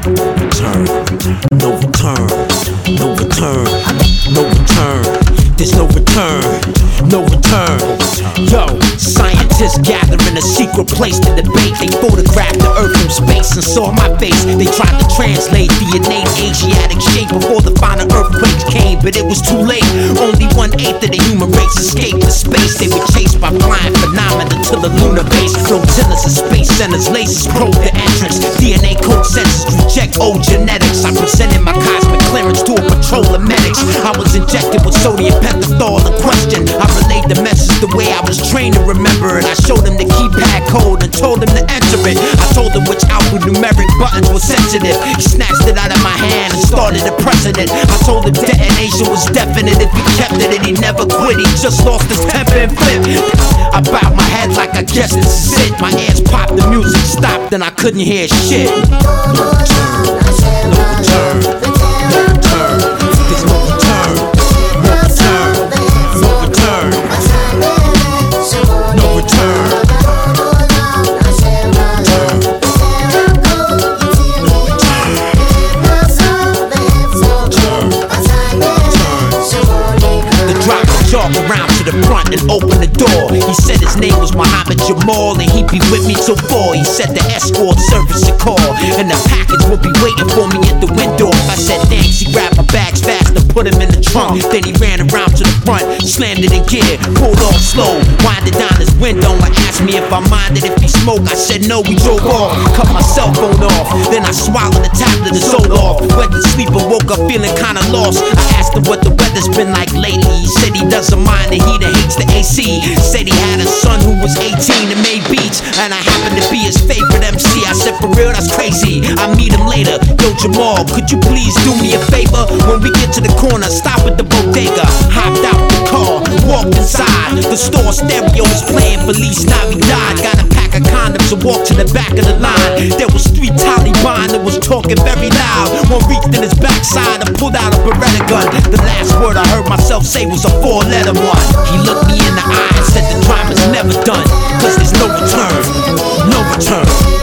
Return, no return, no return, no return. There's no return, no return. Yo, scientists gather in a secret place to debate. They photographed the earth from space and saw my face. They tried to translate the innate Asiatic shape before the final earthquakes came, but it was too late. Only 1/8 of the human race escaped the space. They were chased by flying phenomena to the lunar base. Flotillas and space centers, lasers probe the entrance. DNA code sensors reject old genetics. I presented my cosmic clearance to a patrol of medics. I was injected with sodium pentothal in question. I relayed the message the way I was trained to remember it. I showed him the keypad code and told him to enter it. I told him which alphanumeric buttons were sensitive. He snatched it out of my hand and started to pressing it. I told him detonation was definite if he kept it, and he never quit. He just lost his temper and flipped. I bowed my head like I guess this is it. My ears popped, the music stopped, and I couldn't hear shit. No return, no return, no return. There's no return, no return, no return, no return. Talk around to the front and open the door. He said his name was Muhammad Jamal and he'd be with me till 4. He said the escort service would call and the package would be waiting for me at the window. I said thanks, he grabbed my bags fast and put him in the trunk. Then he ran around to the front, slammed it in gear, pulled off slow, winded down his window and asked me if I minded if he smoked. I said no, we drove off, cut my cell phone off. Then I swallowed the tablet and sold off. Went to sleep and woke up feeling kinda lost. I asked him what the weather's been like lately. He said he doesn't mind the heat and hates the AC. Said he had a son who was 18 and made beats, and I happened to be his favorite MC. I said for real, that's crazy, I'll meet him later. Yo Jamal, could you please do me a favor? When we get to the corner, stop at the bodega. Hopped out the car, walked inside. The store stereo was playing Feliz Navidad. Got a pack of condoms and walked to the back of the line. There was 3 Taliban that was talking very loud. One reached in his backside and pulled out a Beretta gun. The last word I heard myself say was a 4-letter one. He looked me in the eye and said the crime is never done, cause there's no return, no return.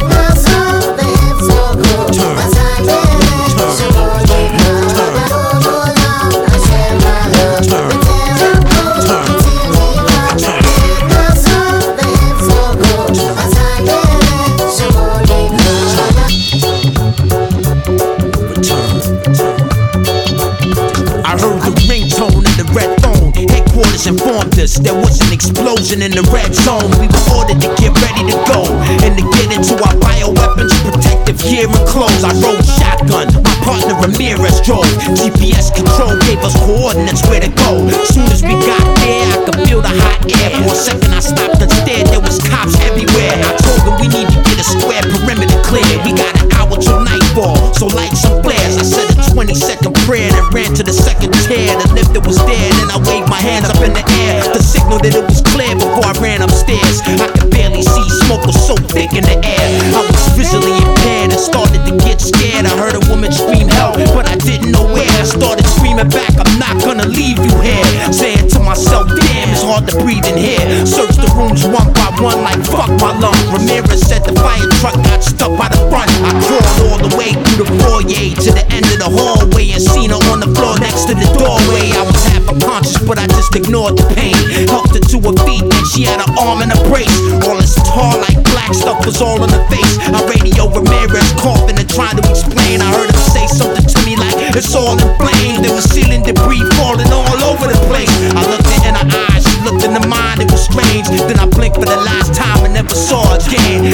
Informed us there was an explosion in the red zone. We were ordered to get ready to go and to get into our bioweapons, protective gear and clothes. I rode shotgun, my partner Ramirez drove. GPS control gave us coordinates where to go. Soon as we got there, I could feel the hot air. For a second I stopped and stared, there was cops everywhere. I told them we need to get a square perimeter clear. We got an hour till nightfall, so light some flares. I said a 20-second prayer and ran to the second tier. The lift that was there, then I waved my hands up in the air to signal that it was clear before I ran upstairs. I could barely see, smoke was so thick in the air. I was visually impaired and started to get scared. I heard a woman scream help, but I didn't know where. I started screaming back, I'm not gonna leave you here. Saying to myself, damn, it's hard to breathe in here. Searched the rooms one by one like fuck my lungs. Ramirez said the fire truck got stuck by the front. I crawled all the way through the foyer to the end of the hallway and seen her on the floor next to the doorway. I was half unconscious, but I just ignored the pain. Helped her to her feet and she had an arm in a brace. All this tar like black stuff was all on her face. I radio Ramirez coughing and trying to explain. I heard him say something to me like it's all in flames. There was ceiling debris falling all over the place. I looked her in her eyes, she looked into mine, it was strange. Then I blinked for the last time and never saw her again.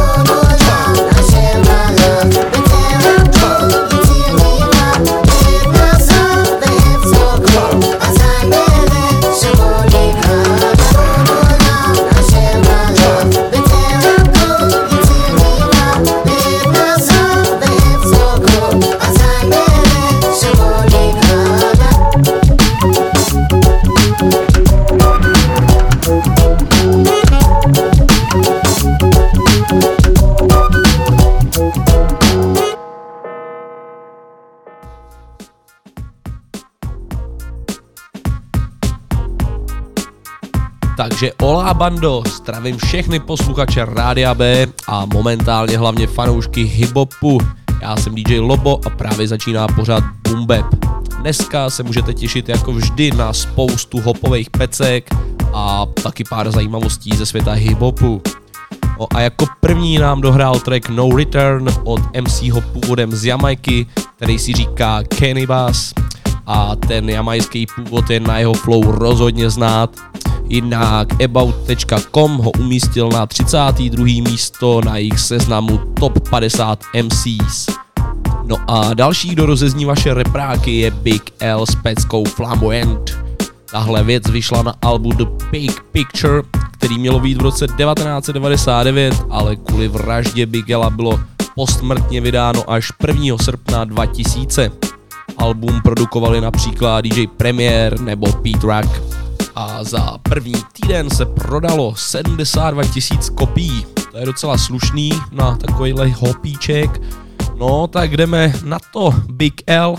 Takže olá bando, zdravím všechny posluchače Rádia B a momentálně hlavně fanoušky hiphopu. Já jsem DJ Lobo a právě začíná pořád Boom Bap. Dneska se můžete těšit jako vždy na spoustu hopových pecek a taky pár zajímavostí ze světa hip-hopu. No a jako první nám dohrál track No Return od MCho původem z Jamajky, který si říká Kenny Bass, a ten jamajský původ je na jeho flow rozhodně znát. Jinak About.com ho umístil na 32. místo na jejich seznamu Top 50 MCs. No a další, kdo rozezní vaše repráky, je Big L s peckou Flamboyant. Tahle věc vyšla na albu The Big Picture, který mělo být v roce 1999, ale kvůli vraždě Big Ella bylo posmrtně vydáno až 1. srpna 2000. Album produkovali například DJ Premier nebo Pete Rock a za první týden se prodalo 72 000 kopií. To je docela slušný na takovýhle hopíček. No tak jdeme na to, Big L.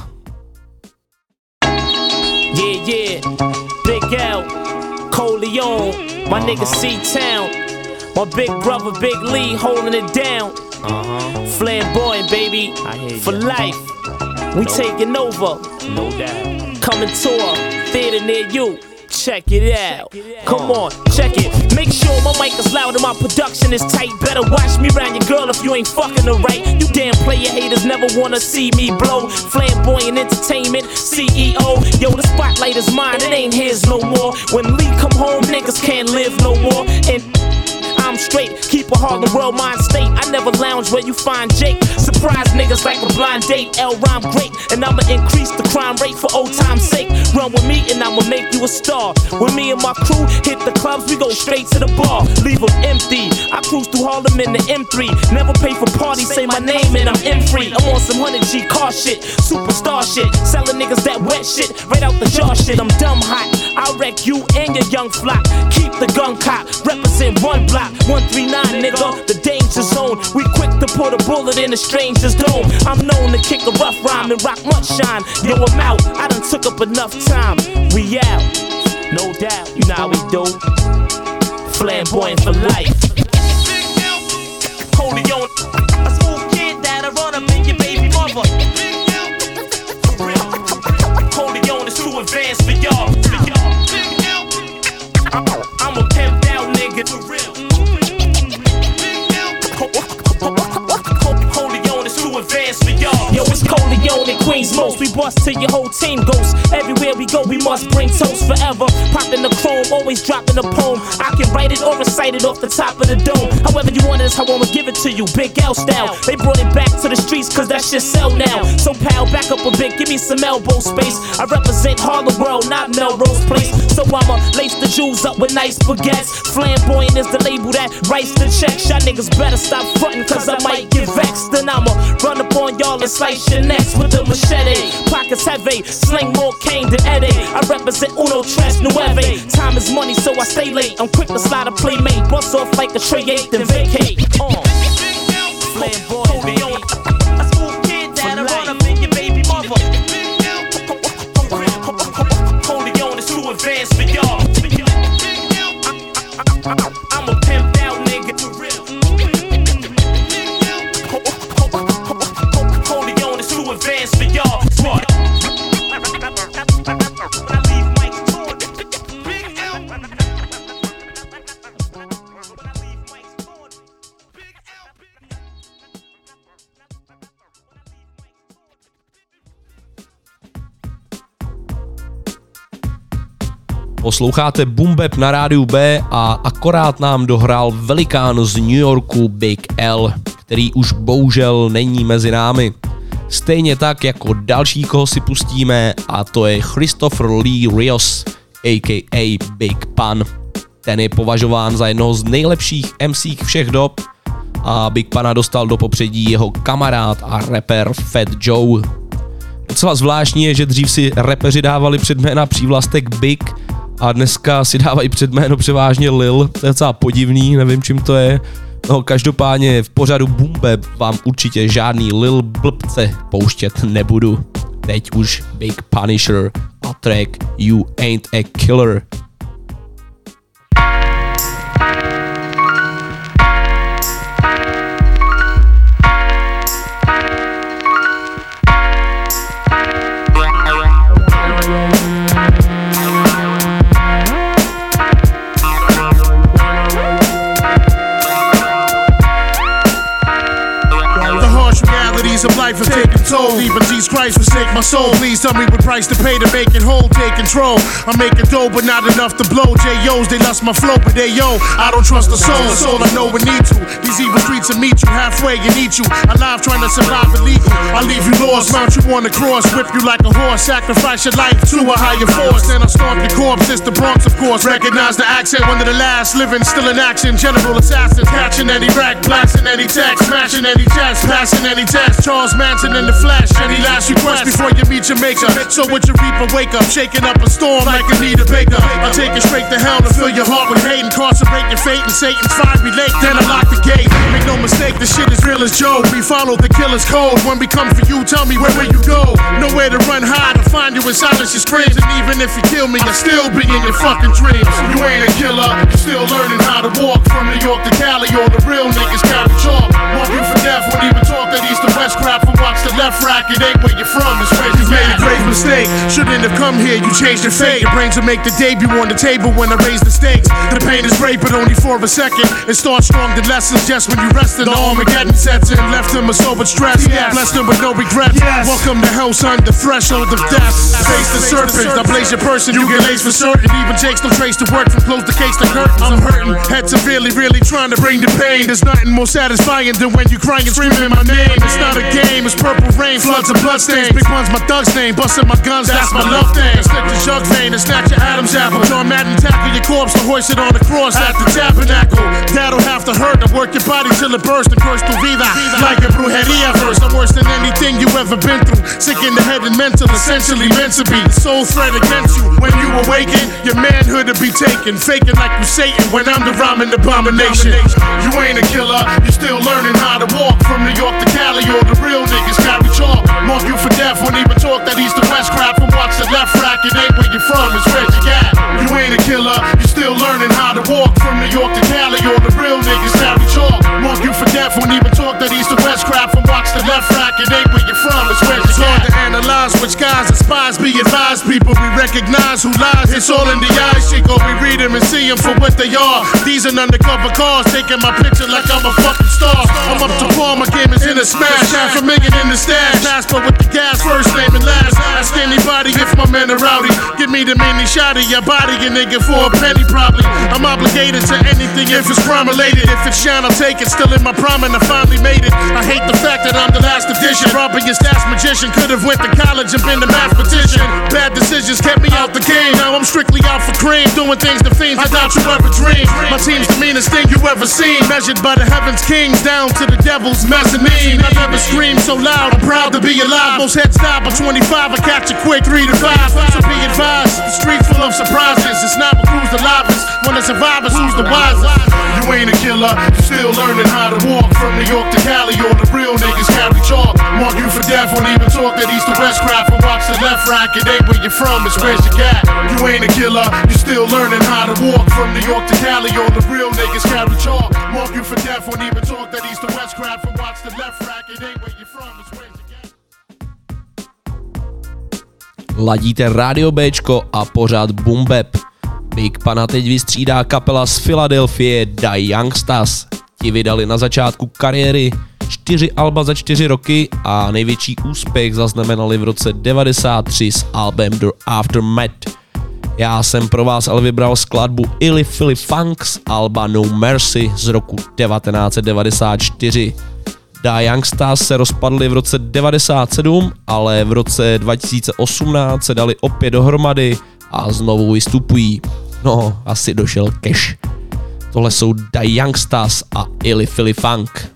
Yeah, Big L, Coleon, my nigga C-Town, my big brother Big Lee holding it down. Flamboyant, baby, for life. We taking over, no doubt. Coming to a theater near you. Check it out. Come on, check it. Make sure my mic is loud and my production is tight. Better watch me round your girl if you ain't fucking her right. You damn player haters never wanna see me blow. Flamboyant Entertainment, CEO. Yo, the spotlight is mine, it ain't his no more. When Lee come home, niggas can't live no more. And I'm straight, keep a Harlem World mind state. I never lounge where you find Jake. Surprise niggas like a blind date. L rhyme great, and I'ma increase the crime rate for old time's sake. Run with me and I'ma make you a star. When me and my crew hit the clubs, we go straight to the bar. Leave them empty. I cruise through Harlem in the M3. Never pay for parties, say my name and I'm M-free. I'm on some 100G car shit, superstar shit. Selling niggas that wet shit, right out the jar shit. I'm dumb hot, I'll wreck you and your young flock. Keep the gun cock, represent one block. 139 nigga, the danger zone. We quick to put a bullet in a stranger's dome. I'm known to kick a rough rhyme and rock much shine. Yo, I'm out, I done took up enough time. We out, no doubt, you know how we do. Flamboyant for life. Holy on, a smooth kid that'll run up in your baby mother. Holy on is too advanced for y'all. I'm a pimped out nigga for real. Advance for y'all. Yo, it's Coleon and Queens most. We bust till your whole team goes. Everywhere we go, we must bring toast forever. Popping the chrome, always dropping a poem. I can write it or recite it off the top of the dome. However you want it is how I'ma give it to you. Big L style. They brought it back to the streets cause that shit sell now. So pal, back up a bit, give me some elbow space. I represent Harlem World, not Melrose Place. So I'ma lace the jewels up with nice baguettes. Flamboyant is the label that writes the checks. Y'all niggas better stop frontin' cause I might get vexed. Then I'ma run up on y'all and slice your necks with a machete. Pockets heavy, sling more cane than Eddie. I represent Uno Tres Nueve. Time is money, so I stay late. I'm quick to slide a playmate. Bust off like a tray 8, then vacate. Flamboyant, baby. A smooth kid that'll run up in your baby mother. Holy on is too advanced for y'all. I'm a pimped out nigga for real. Advance for y'all. Smart. Posloucháte Boom Bap na rádiu B a akorát nám dohrál velikán z New Yorku Big L, který už bohužel není mezi námi. Stejně tak jako další, koho si pustíme, a to je Christopher Lee Rios, a.k.a. Big Pun. Ten je považován za jednoho z nejlepších MC všech dob a Big Pana dostal do popředí jeho kamarád a rapper Fat Joe. Docela zvláštní je, že dřív si rapeři dávali předjména přívlastek Big a dneska si dávají předjméno převážně Lil. To je docela podivný, nevím čím to je. No každopádně v pořadu Boom Bap vám určitě žádný Lil blbce pouštět nebudu. Teď už Big Punisher a track You Ain't a Killer. Days of life have taken toll. Even Jesus Christ forsake my soul. Please tell me what price to pay to make it whole. Take control. I'm making dough, but not enough to blow. J.O.'s, they lust my flow, but they yo, I don't trust the soul. That's all I know we need to. These evil streets will meet you halfway and eat you. Alive trying to survive illegal. I'll leave you lost, mount you on the cross, whip you like a horse, sacrifice your life to a higher force. Then I'll stomp your corpse. It's the Bronx, of course. Recognize the accent, one of the last living, still in action. General assassins, catching any rack, blasting any text, smashing any chest, passing any test. Charles Manson in the flesh. Any last request before you meet your maker? So with your reaper, wake up, shaking up a storm like Anita Baker. I'll take it straight to hell to fill your heart with hate, incarcerate your fate in Satan's fiery lake. Then I lock the gate. Make no mistake, the shit is real as Joe. We follow the killer's code. When we come for you, tell me where will you go? Nowhere to run, hide, or find you in silence. Your screams, and even if you kill me, I'll still be in your fucking dreams. You ain't a killer, you're still learning how to walk. From New York to Cali, all the real niggas carry chalk. Mark you for death, won't even talk that east to west crap. And watch the left rack, it ain't where you're from, it's where you made a grave mistake. Shouldn't have come here, you changed your fate. Your brains will make the debut on the table when I raise the stakes. The pain is great, but only for a second. It starts strong, the lessons just when you rested. The Armageddon sets in, left him a sober stress. Blessed him with no regrets. Welcome to hell, son, the threshold of death. Face the serpent, I blaze your person, you get laced for certain. Even takes no trace to work from close the case to curtains. I'm hurting, head severely, really trying to bring the pain. There's nothing more satisfying than when you crying and screaming my name. It's not a game, it's purple rain, floods and bloodstains. Big one's my thug's name, busting my guns, that's my love thing. Slip the jug vein and snatch your Adam's apple. John Madden tackle your corpse to hoist it on the cross at the tabernacle. That'll have to hurt, I work your body till it bursts and curse tu vida. Like a brujeria verse, I'm worse than anything you ever been through. Sick in the head and mental, essentially meant to be. The soul threat against you. When you awaken, your manhood to be taken. Faking like you Satan when I'm the rhyming abomination. You ain't a killer, you still learning how to walk. From New York to Cali, all the real niggas carry chalk. Mark you for death, won't even talk that east to west crap. And watch the left rack, it ain't where you're from, it's where you at. You ain't a killer, you still learning how to walk. From New York to Cali, all the real niggas carry chalk. Mark you for death, won't even talk that east to west crap. And watch the left rack, it ain't where you're from, it's where you at. It's hard to analyze which guys and spies. Be advised, people, we recognize who lies. It's all in the eyes, Chico, we read them and see them for what they are. These are undercover cars, taking my picture like I'm a fucking star. I'm up to par, my game is in a smash. Half a million in the stash, Passport with the gas, first name and last. Ask anybody if my men are rowdy. Give me the mini shot of your body, a nigga, for a penny probably. I'm obligated to anything if it's crime related. If it's shine, I'll take it, still in my prime and I finally made it. I hate the fact that I'm the last edition. Robbing your stats magician, could've went to college and been a mathematician. Bad decisions kept me out the game, now I'm strictly out for cream. Doing things to fiends I doubt you ever dreamed. My team's the meanest thing you ever seen. Measured by the heavens kings, down to the devil's mezzanine. I've never screamed so loud, I'm proud to be alive. Most heads die by 25, I catch a quick 3 to 5. So be advised, the streets full of surprises. It's not who's the livest, when the survivors, who's the wisest. You ain't a killer, you still learning how to walk. From New York to Cali, all the real niggas carry chalk. Mark you for death, won't even talk that east to west crap. And watch the left rack, it ain't where you're from, it's where you got. You ain't a killer, you still learning how to walk. From New York to Cali, all the real niggas carry chalk. Mark you for death, won't even talk that east to west crap. And watch the left rack, it ain't where you're from, it's where you got. Ladíte Radio Bčko a pořád Boom Bap. Big Pana teď vystřídá kapela z Filadelfie The Youngsters. Ti vydali na začátku kariéry 4 alba za 4 roky a největší úspěch zaznamenali v roce 93 s albem The Aftermath. Já jsem pro vás ale vybral skladbu Illy Philly Funk z alba No Mercy z roku 1994. The Youngsters se rozpadli v roce 97, ale v roce 2018 se dali opět dohromady a znovu vystupují. No, asi došel cash. Tohle jsou The Youngsters a Illy Philly Funk.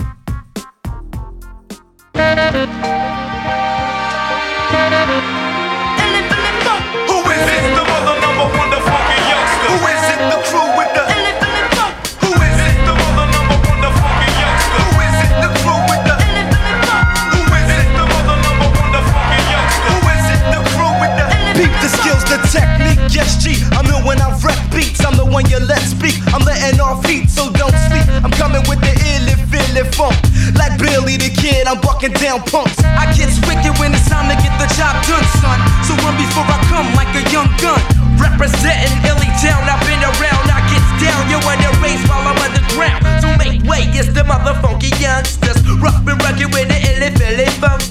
Yes, G, I'm in when I rap beats. I'm the one you let speak. I'm letting off heat, so don't sleep. I'm coming with the illy filly funk. Like Billy the Kid, I'm bucking down punks. I get wicked when it's time to get the job done, son. So run before I come like a young gun. Representing Illy Town, I've been around. I get down, you in the race while I'm underground. So make way, it's the motherfunky youngsters. Rough and rugged with the illy filly funk.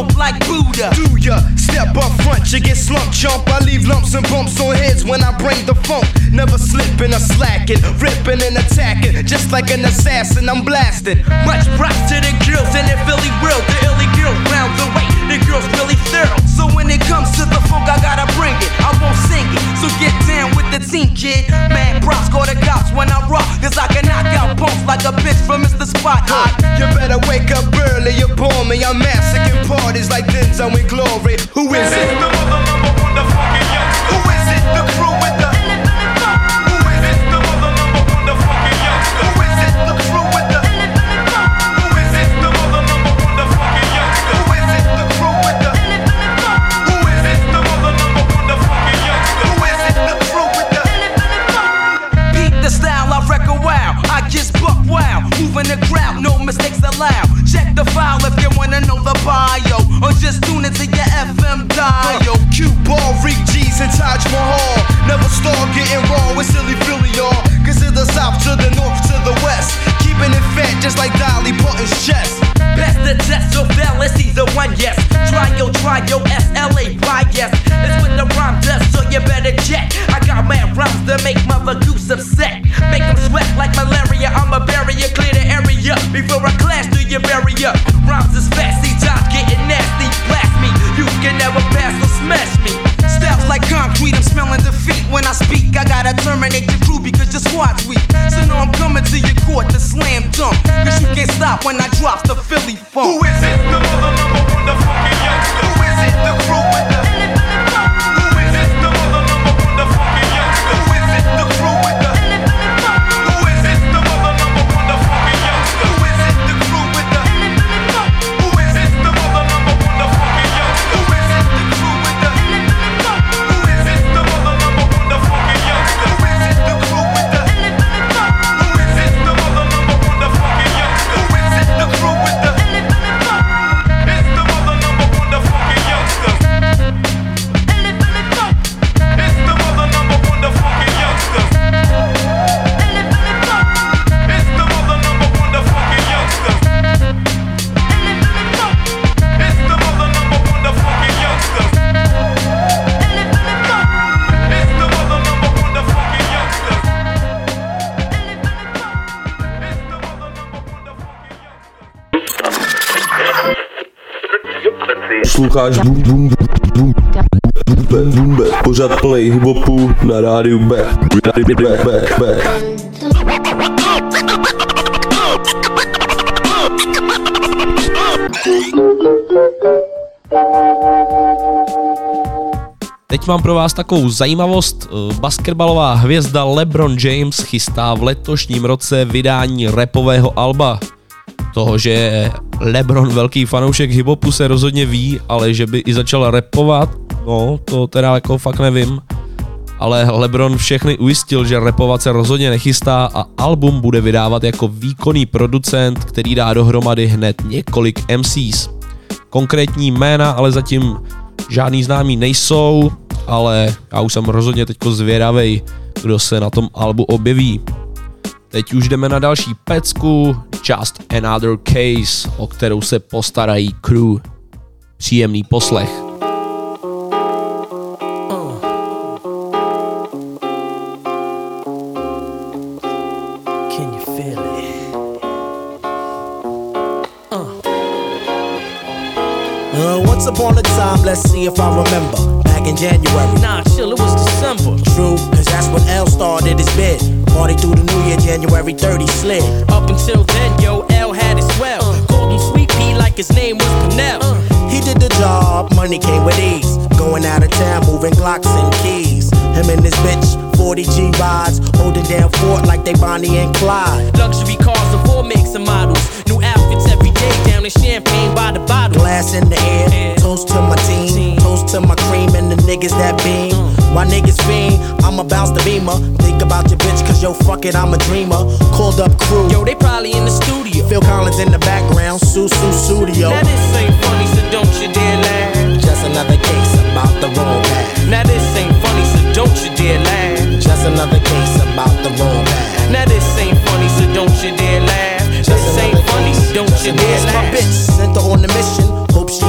smoke like Buddha. Do ya step up front, you get slumped, chump. I leave lumps and bumps on heads when I bring the funk. Never slipping or slacking, ripping and attacking. Just like an assassin, I'm blasting. Much props to the girls in the Philly world. The illy girls round the way, the girls really thorough. So when it comes to the funk, I gotta bring it. I won't sing it, so get down with the team, kid. Mad props, call the cops when I rock, cause I can knock out punks like a bitch from Mr. Spot Hot. You better wake up early, you bore me. I'm massacring parties like Denzel in Glory. Who is it? The motherfucking youngster. Who is it? The crew with the. Who is it? The motherfucking youngster. Who is it? The crew with the. Who is it? The motherfucking youngster. Who is it? The crew with the. Who is it? The motherfucking youngster. Who is it? The crew with the. Beat the style, I reckon wow. I just buck wow. Moving the crowd, no mistakes allowed. Check the file if you wanna know the bio, or just tune into your FM dial. Cue ball, Rick G's and Taj Mahal. Never start getting raw with silly Philly, y'all. Cause it's the south to the north to the west. Keeping it fat just like Dolly Parton's chest. Best the test, so fellas, either one, yes. Try yo, S-L-A-Y, yes. It's with the rhyme dust, so you better check. I got mad rhymes to make Mother Goose upset. Make them sweat like malaria, I'm a barrier. Clear the area before I clash through your barrier. Rhymes is fast, see Josh getting nasty. Blast me, you can never pass or smash me. Styles like concrete, I'm smelling defeat. When I speak, I gotta terminate the crew because your squad's weak. So now I'm coming to your court to slam dunk, cause you can't stop when I drop the Philly funk. Who is it? The motherfucking youngster. Who is it? The crew with the. Who is it? The motherfucking youngster. Who is it? The crew with the. Who is it? The motherfucking youngster. Who is it? The crew with the. Who is it? The motherfucking youngster. Who is it? The crew with the. Who is it? The motherfucking youngster. Who is it? The crew with the. Who is it? The motherfucking youngster. Who is it? The crew with the. It's the motherfucking youngster. It's the motherfucking youngster. It's the motherfucking youngster. It's the motherfucking youngster. It's the motherfucking youngster. Posloucháš Boom Bap, pořád plnej hiphopu na rádiu Back. Teď mám pro vás takovou zajímavost. Basketbalová hvězda LeBron James chystá v letošním roce vydání rapového alba. Toho, že je LeBron velký fanoušek hiphopu, se rozhodně ví, ale že by i začal rapovat, no to teda jako fakt nevím. Ale LeBron všechny ujistil, že rapovat se rozhodně nechystá a album bude vydávat jako výkonný producent, který dá dohromady hned několik MCs. Konkrétní jména ale zatím žádný známý nejsou, ale já už jsem rozhodně teďko zvědavej, kdo se na tom albu objeví. Teď už jdeme na další pecku, Just Another Case, o kterou se postarají Crew. Příjemný poslech. Can you feel it? Once upon a time, let's see if I remember. Back in January. Nah, chill, it was December. True, cause that's when L started his bid. Party through the new year, January 30 slid. Up until then, yo, L had it swell. Called him Sweet Pea like his name was Pernell. He did the job, money came with ease. Going out of town, moving Glocks and keys. Him and his bitch, 40 G rides, holding down fort like they Bonnie and Clyde. Luxury cars of all makes and models. New outfits every day, down in champagne by the bottle. Glass in the air, toast to my team, toast to my cream and the niggas that beam. Why niggas fiend? I'ma bounce the beamer. Think about your bitch, cause yo, fuck it, I'm a dreamer. Called up Crew. Yo, they probably in the studio. Phil Collins in the background, Susu Studio. Now this ain't funny, so don't you dare laugh. Just another case about the wrong path. Now this ain't funny, so don't you dare laugh. Just another case about the wrong path. Now this ain't funny, so don't you dare laugh. This ain't funny, so don't you dare My laugh. bitch sent her on a mission. Hope she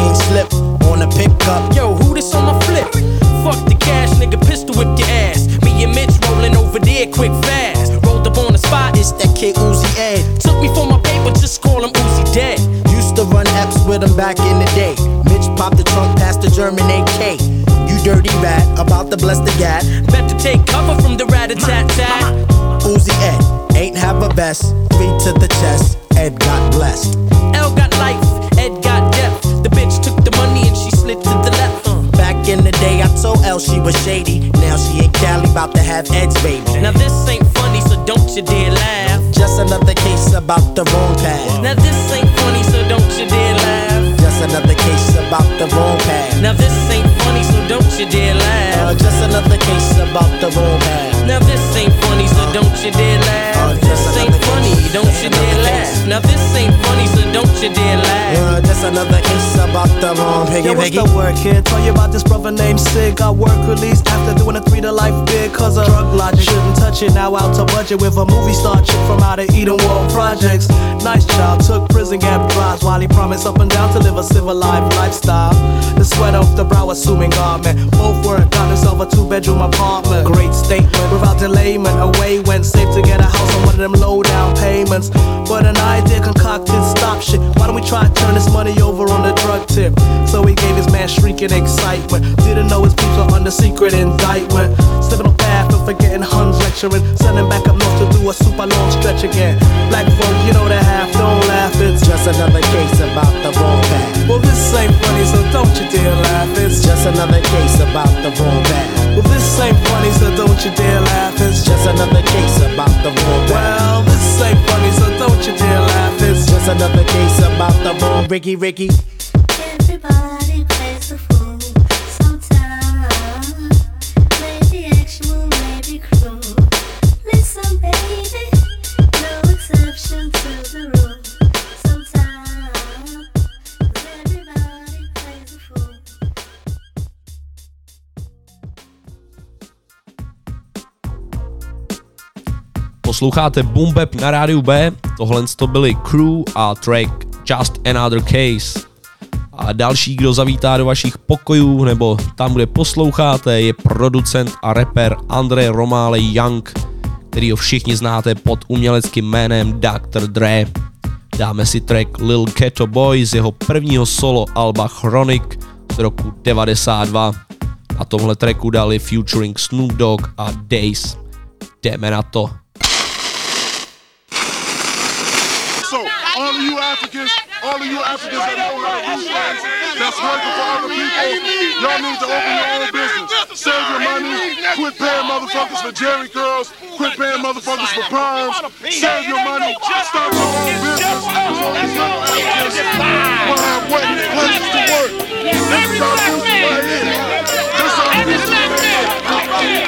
ain't slip on a pickup. Yo, who this on my flip? Fuck the cash, nigga, pistol whip your ass. Me and Mitch rolling over there quick fast. Rolled up on the spot, It's that kid Uzi Ed. took me for my paper, just call him Uzi dead. Used to run apps with him back in the day. Mitch popped the trunk past the German AK. You dirty rat, about to bless the gat. Better take cover from the rat-a-tat-tat. Uzi Ed, ain't have a vest. 3 to the chest, Ed got blessed. L got life, Ed got death. The bitch took the money and she slid to the left. Back in the day, I told Elle she was shady. Now she in Cali, about to have Ed's baby. Now this ain't funny, so don't you dare laugh. Just another case about the wrong path. Now this ain't funny, so don't you dare laugh. Just another case about the wrong path. Now this ain't funny, so don't you dare laugh. Just another case about the wrong path. Now this ain't funny, so don't you dare laugh. This ain't funny, don't you dare laugh. Now this ain't funny, so don't you dare laugh. Just another case about the wrong piggy. Yo, what's the word, kid? Tell you about this brother named Sig. Got work released after doing a 3 to life bid. Cause of drug logic, shouldn't touch it. Now out to budget with a movie star chick from out of Eden World Projects. Nice child, took prison gap drives while he promised up and down to live a civilized lifestyle. The sweat off the brow, assuming garment. Both work, got himself a 2-bedroom apartment. Great statement, without delayment. Away went safe to get a house on one of them low down payments. But an idea concocted, stop shit. Why don't we try to turn this money over on the drug tip? So he gave his man shrieking excitement. Didn't know his peeps were under secret indictment. Slipping on path and forgetting Huns lecturing. Sending back up north to do a super long stretch again. Black folk, you know the half, don't laugh. It's just another case about the wrong path. Well, this ain't funny, so don't you dare laugh. It's just another case about the wrong path. Well, this ain't funny, so don't you dare laugh. It's just another case about the wrong path. Well, this ain't funny, so don't you dare laugh. It's just another case about the wrong Ricky. Everybody plays the fool sometimes. Maybe actual, maybe cruel. Listen, baby, no exception to the rule. Sometimes everybody plays the fool. Posloucháte Boom Bap na rádiu B, tohle to byly Crew a track Just Another Case. A další, kdo zavítá do vašich pokojů nebo tam, kde posloucháte, je producent a rapper Andre Romale Young, kterýho všichni znáte pod uměleckým jménem Dr. Dre. Dáme si track Lil Ghetto Boy z jeho prvního solo alba Chronic z roku 92. Na tomhle tracku dali featuring Snoop Dogg a Days. Jdeme na to. All of you Africans that know how to do things, that's working for other people, y'all need to open your own business. Save your money, quit paying motherfuckers for Jerry curls, quit paying motherfuckers for perms, save your money, start your own business. So these little Africans will have places to work. This is our business right here. This is our business right here.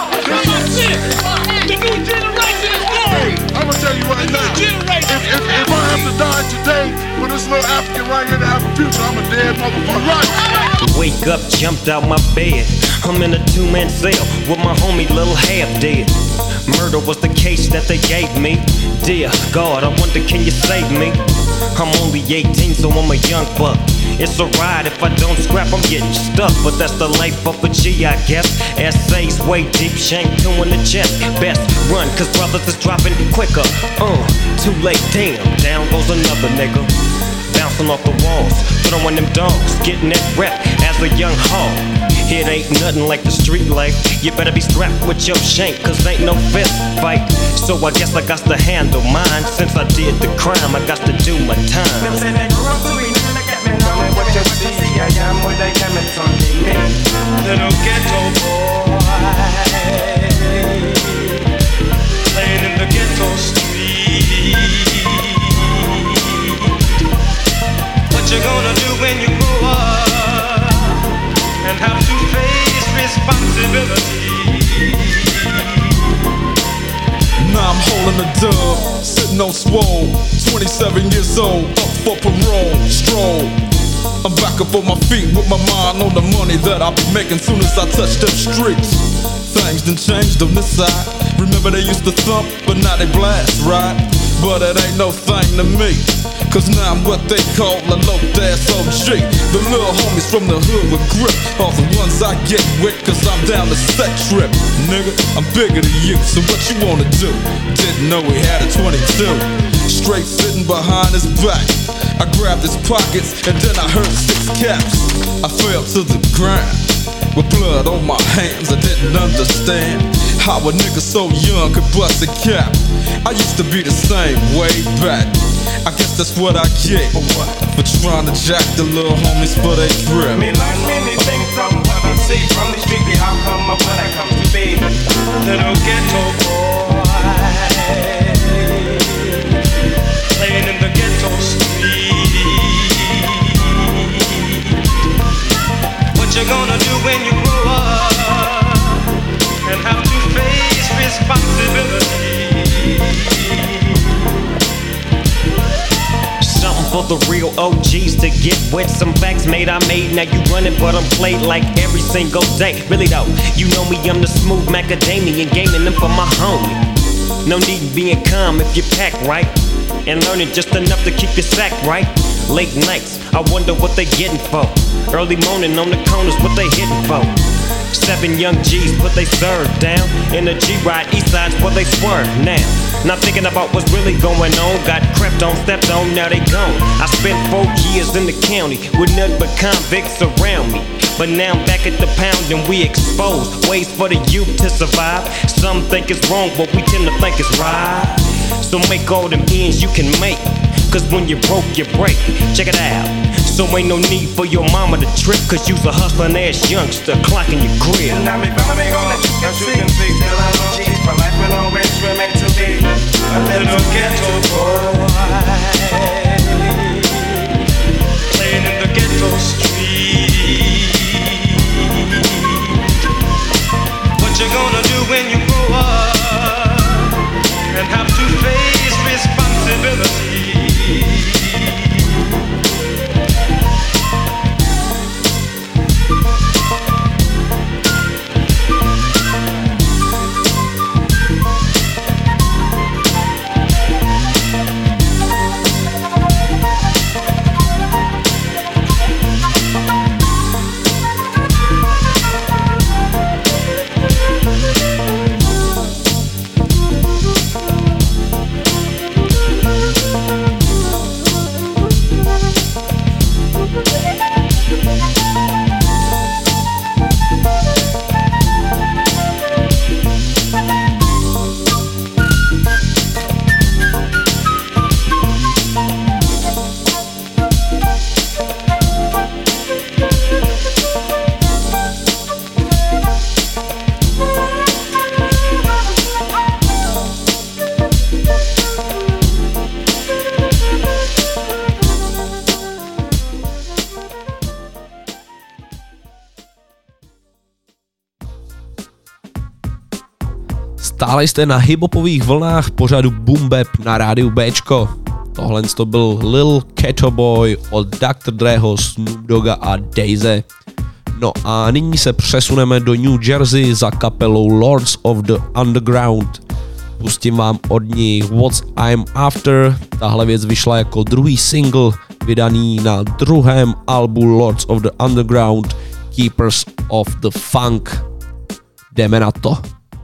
The new generation is born. I'm gonna tell you right now, if I have to die today for this little African right here to have a future, I'm a dead motherfucker. Right. Wake up, jumped out my bed. I'm in a 2-man cell with my homie Lil Half Dead. Murder was the case that they gave me. Dear God, I wonder, can you save me? I'm only 18, so I'm a young buck. It's a ride, if I don't scrap, I'm getting stuck. But that's the life of a G, I guess. Essays way deep, shank 2 in the chest. Best run, cause brothers is dropping quicker. Too late, damn, down goes another nigga. Bouncing off the walls, throwing them dogs, getting that rep as a young hog. It ain't nothing like the street life. You better be strapped with your shank, cause ain't no fist fight. So I guess I got to handle mine. Since I did the crime, I got to do my time. Little ghetto boy, playing in the ghetto street. What you gonna do when you grow up and have to face responsibility? Now I'm holding a dub, sitting on swole, 27 years old, up for parole, stroll. I'm back up on my feet with my mind on the money that I'll be making soon as I touch them streets. Things done changed on this side. Remember they used to thump, but now they blast, right? But it ain't no thing to me, Cause now I'm what they call a low-ass OG. The little homies from the hood with grip are the ones I get with, cause I'm down the set trip. Nigga, I'm bigger than you, so what you wanna do? Didn't know he had a 22. Straight sitting behind his back, I grabbed his pockets and then I heard 6 caps. I fell to the ground with blood on my hands. I didn't understand how a nigga so young could bust a cap. I used to be the same way back. I guess that's what I get for trying to jack the little homies for they drip. Me learn many things from what I see from the street. How come up when I come to be little ghetto boy playing in the ghetto street? What you gonna do when you grow up and have to face responsibility? For the real OGs to get with some facts made I made. Now you running but I'm played like every single day. Really though, you know me, I'm the smooth macadamian, gaming them for my homie. No need being calm if you pack right and learning just enough to keep your sack right. Late nights, I wonder what they getting for. Early morning on the corners, what they hitting for. 7 young G's put they serve down in a G-Ride, east side's where they swerve now. Not thinking about what's really going on. Got crept on, stepped on, now they gone. I spent 4 years in the county with nothing but convicts around me. But now I'm back at the pound and we exposed ways for the youth to survive. Some think it's wrong, but we tend to think it's right. So make all them ends you can make, cause when you broke, you break. Check it out. So ain't no need for your mama to trip, cause you's a hustling ass youngster clocking your crib. Now me gonna make all that you can see. Still I'm on G, my life will always remain to be a little ghetto boy playing in the ghetto street. What you gonna do when you grow up and have to face responsibility? Stále jste na hiphopových vlnách pořadu Boom Bap na rádiu Bčko. Tohle to byl Lil Catto Boy od Dr. Dreho, Snoop Dogga a Daisy. No a nyní se přesuneme do New Jersey za kapelou Lords of the Underground. Pustím vám od ní What I'm After. Tahle věc vyšla jako druhý single vydaný na druhém albu Lords of the Underground, Keepers of the Funk. Jdeme na to.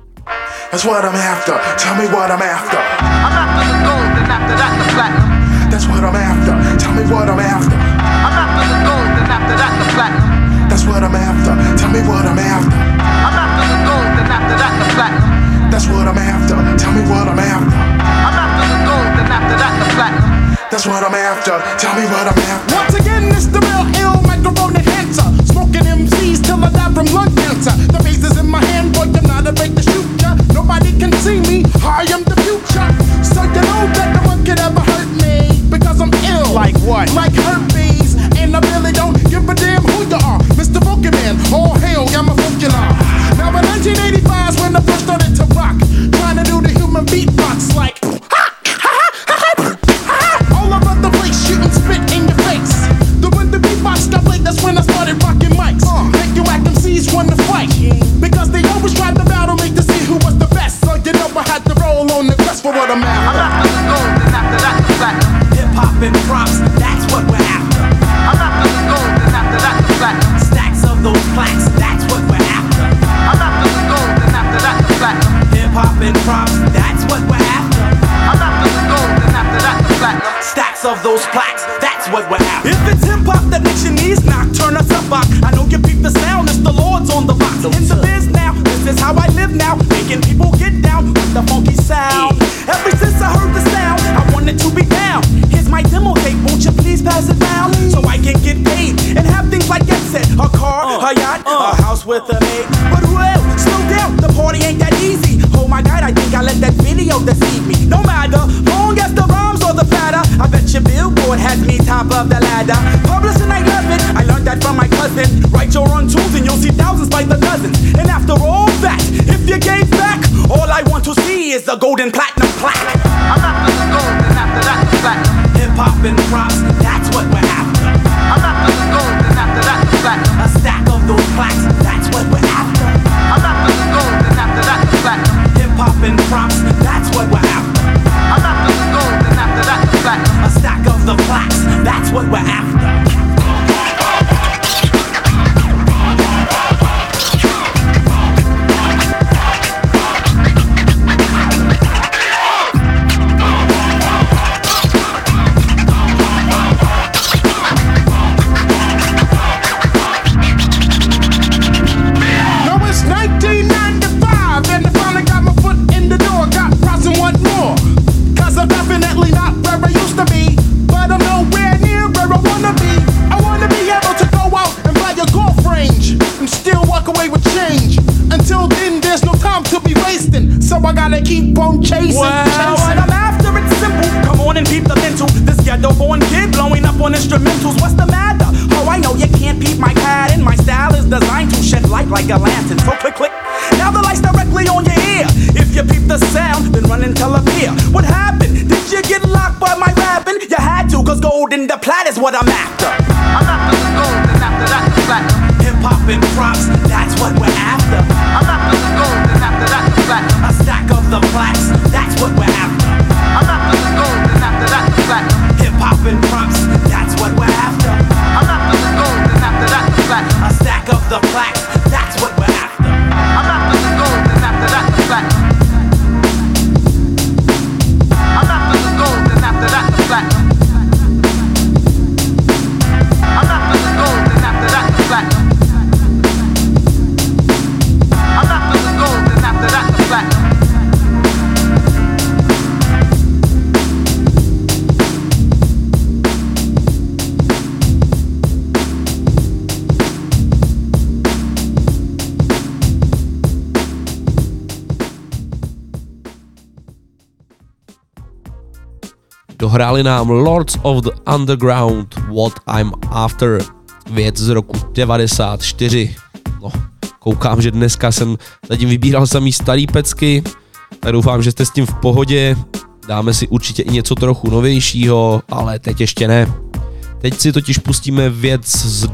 That's what I'm after. Tell me what I'm after. I'm after the gold, and after that the platinum. That's what I'm after. Tell me what I'm after. I'm after the gold, and after that the platinum. That's what I'm after. Tell me what I'm after. I'm after the gold, and after that the platinum. That's what I'm after. Tell me what I'm after. I'm after the gold, and after that the platinum. That's what I'm after. Tell me what I'm after. Once again, it's the real ill microphone enhancer. Smoking MCs till I die from lung cancer. The bass is in my hand, boy, I'm not afraid to shoot ya. Nobody can see me, I am the future. So you know that no one could ever hurt me, because I'm ill. Like what? Like herpes. And I really don't give a damn who you are. Mr. Pokemon, all hail, I'm a Pokemon. Now in 1985 is when I first started to rock, trying to do the human beatbox like all over the place, shooting spit in your face. When the beatbox got played, that's when I started rocking mics. Make you act MCs want to fight, because they always tried to battle me to see who was the best. So you know I had to roll on the quest for what I'm after. I'm after the gold, and after that the platinum. Hip hop and rock of those plaques, that's what we're after. If it's hip hop that makes your knees knock, turn us up, I know you peep the sound, it's the Lord's on the box. In the biz now, this is how I live now, making people get down with the funky sound. Ever since I heard the sound, I wanted to be down. Here's my demo tape, won't you please pass it down, so I can get paid and have things like get set, a car, a yacht, a house with a maid. But well, slow down, the party ain't that easy. Oh my God, I think I let that video deceive me. No matter, long as the rhymes or the fatter, I bet your Billboard has me top of the ladder. Publishing, I love it, I learned that from my cousin. Write your own tunes and you'll see thousands by the dozens. And after all that, if you gave back, all I want to see is the golden platinum plaque. I'm after the gold, and after that the platinum. Hip hop and props, that's what we're after. I'm after the gold, and after that the platinum. A stack of those plaques, that's what we're after. I'm after the gold, and after that the platinum. Hip hop and props, that's what we're after. I'm after the gold, and after that the platinum. A stack of the plaques, that's what we're after. So I gotta keep on chasing. Well, what I'm after, it's simple. Come on and peep the mental. This ghetto-born kid blowing up on instrumentals. What's the matter? Oh, I know you can't peep my pattern. My style is designed to shed light like a lantern. So click, click. Now the light's directly on your ear. If you peep the sound, then run and tell a peer. What happened? Did you get locked by my rapping? You had to, cause gold in the plat is what I'm after. I'm after the gold, and after that the platinum. Hip-hop and props, that's what we're after. I'm after the gold, and after that the platinum. A stack of the plaques, that's what we're after. I'm after the gold, and after that the platinum. Hip-hop and props, that's what we're after. I'm after the gold, and after that the platinum. A stack of the plaques, that's what we're after. I'm after the gold, and after that the platinum. I'm after the gold, and after that the platinum. I'm after the gold, and after that the platinum. I'm after the gold, and after that the platinum. Dohráli nám Lords of the Underground, What I'm After, věc z roku 94. No, koukám, že dneska jsem zatím vybíral samý starý pecky, tak doufám, že jste s tím v pohodě. Dáme si určitě i něco trochu novějšího, ale teď ještě ne. Teď si totiž pustíme věc z